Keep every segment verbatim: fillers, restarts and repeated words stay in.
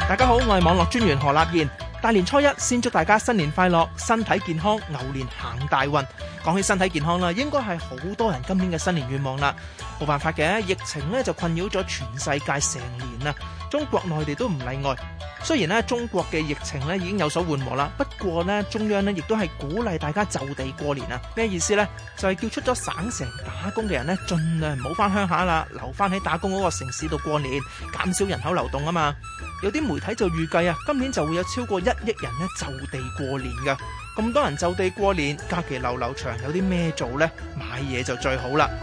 大家好，我係網絡專員何立彥。大年初一先祝大家新年快樂，身體健康，牛年行大運。講起身體健康啦，應該係好多人今年嘅新年願望啦。冇辦法嘅，疫情咧就困擾咗全世界成年啦，中國內地都唔例外。雖然咧中國嘅疫情咧已經有所緩和啦，不過咧中央咧亦都係鼓勵大家就地過年啊。咩意思呢？就係叫出咗省城打工嘅人咧，盡量唔好翻鄉下啦，留翻喺打工嗰個城市度過年，減少人口流動啊嘛。有啲媒體就預計啊，今年就會有超過一億人咧就地過年㗎。咁多人就地過年，假期流流長，有啲咩做呢？買嘢就最好啦。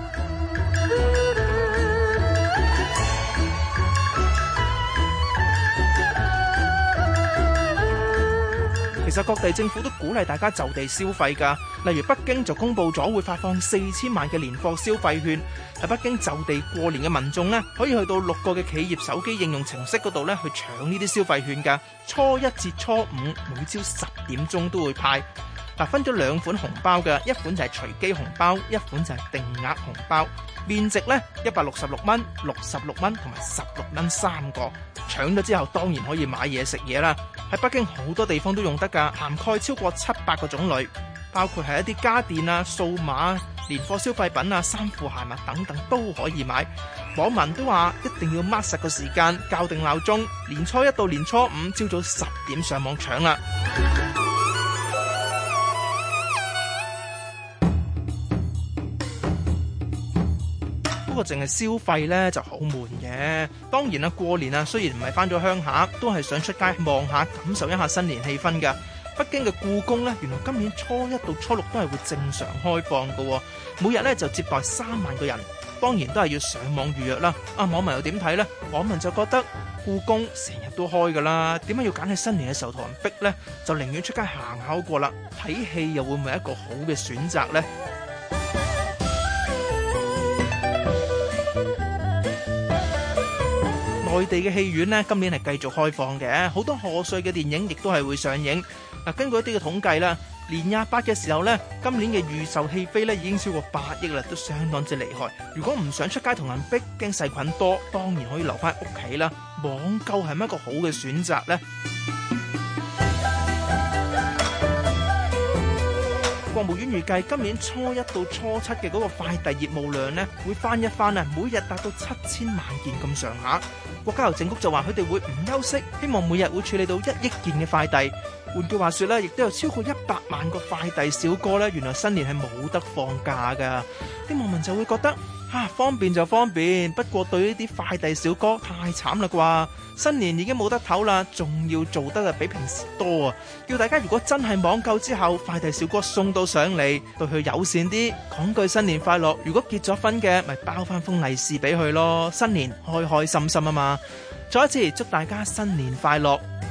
其實各地政府都鼓勵大家就地消費㗎，例如北京就公布咗會發放四千萬嘅年貨消費券，喺北京就地過年嘅民眾呢，可以去到六個嘅企業手機應用程式嗰度呢去搶呢啲消費券㗎。初一至初五每朝十點鐘都會派。嗱，分咗兩款紅包嘅，一款就係隨機紅包，一款就係定額紅包。面值呢一百六十六蚊、六十六蚊同埋十六蚊三個。搶咗之後當然可以買嘢食嘢啦。喺北京好多地方都用得㗎，涵蓋超過七百個種類，包括係一啲家電啊、數碼、年貨消費品啊、衫褲鞋襪等等都可以買。網民都話一定要 mark 實個時間，校定鬧鐘，年初一到年初五朝早十點上網搶啦。不過淨係消費呢就好悶嘅。當然啦，過年啊，雖然唔係返咗鄉下，都係想出街望下，感受一下新年氣氛㗎。北京嘅故宮呢，原來今年初一到初六都係會正常開放㗎，每日呢就接待三萬個人。當然都係要上網預約啦。啊，網民又點睇呢？網民就覺得故宮成日都開㗎啦，點解要揀喺新年嘅時候同人逼呢？就寧願出街行下好過啦。睇戲又會唔會係一個好嘅選擇呢？內地嘅戲院呢，今年係繼續開放嘅，好多賀歲嘅電影亦都係會上映。嗱，根據一啲嘅統計啦，年廿八嘅時候呢，今年嘅預售戲飛呢已經超過八億啦，都相當之厲害。如果唔想出街同人逼，驚細菌多，當然可以留翻屋企啦。網購係咪一個好嘅選擇呢？國務院預計今年初一到初七嘅嗰個快遞業務量呢，會翻一番啊，每日達到七千萬件咁上下。國家郵政局就話佢哋會唔休息，希望每日會處理到一億件嘅快遞。換句話說咧，亦都有超過一百萬個快遞小哥咧，原來新年係冇得放假噶。啲網民就會覺得啊，方便就方便，不過對呢啲快遞小哥太慘啦啩！新年已經冇得唞啦，仲要做得啊比平時多啊！叫大家如果真係網購之後，快遞小哥送到上嚟，對佢友善啲，講句新年快樂。如果結咗婚嘅，咪包翻封利是俾佢咯。新年開開心心啊嘛！再一次祝大家新年快樂！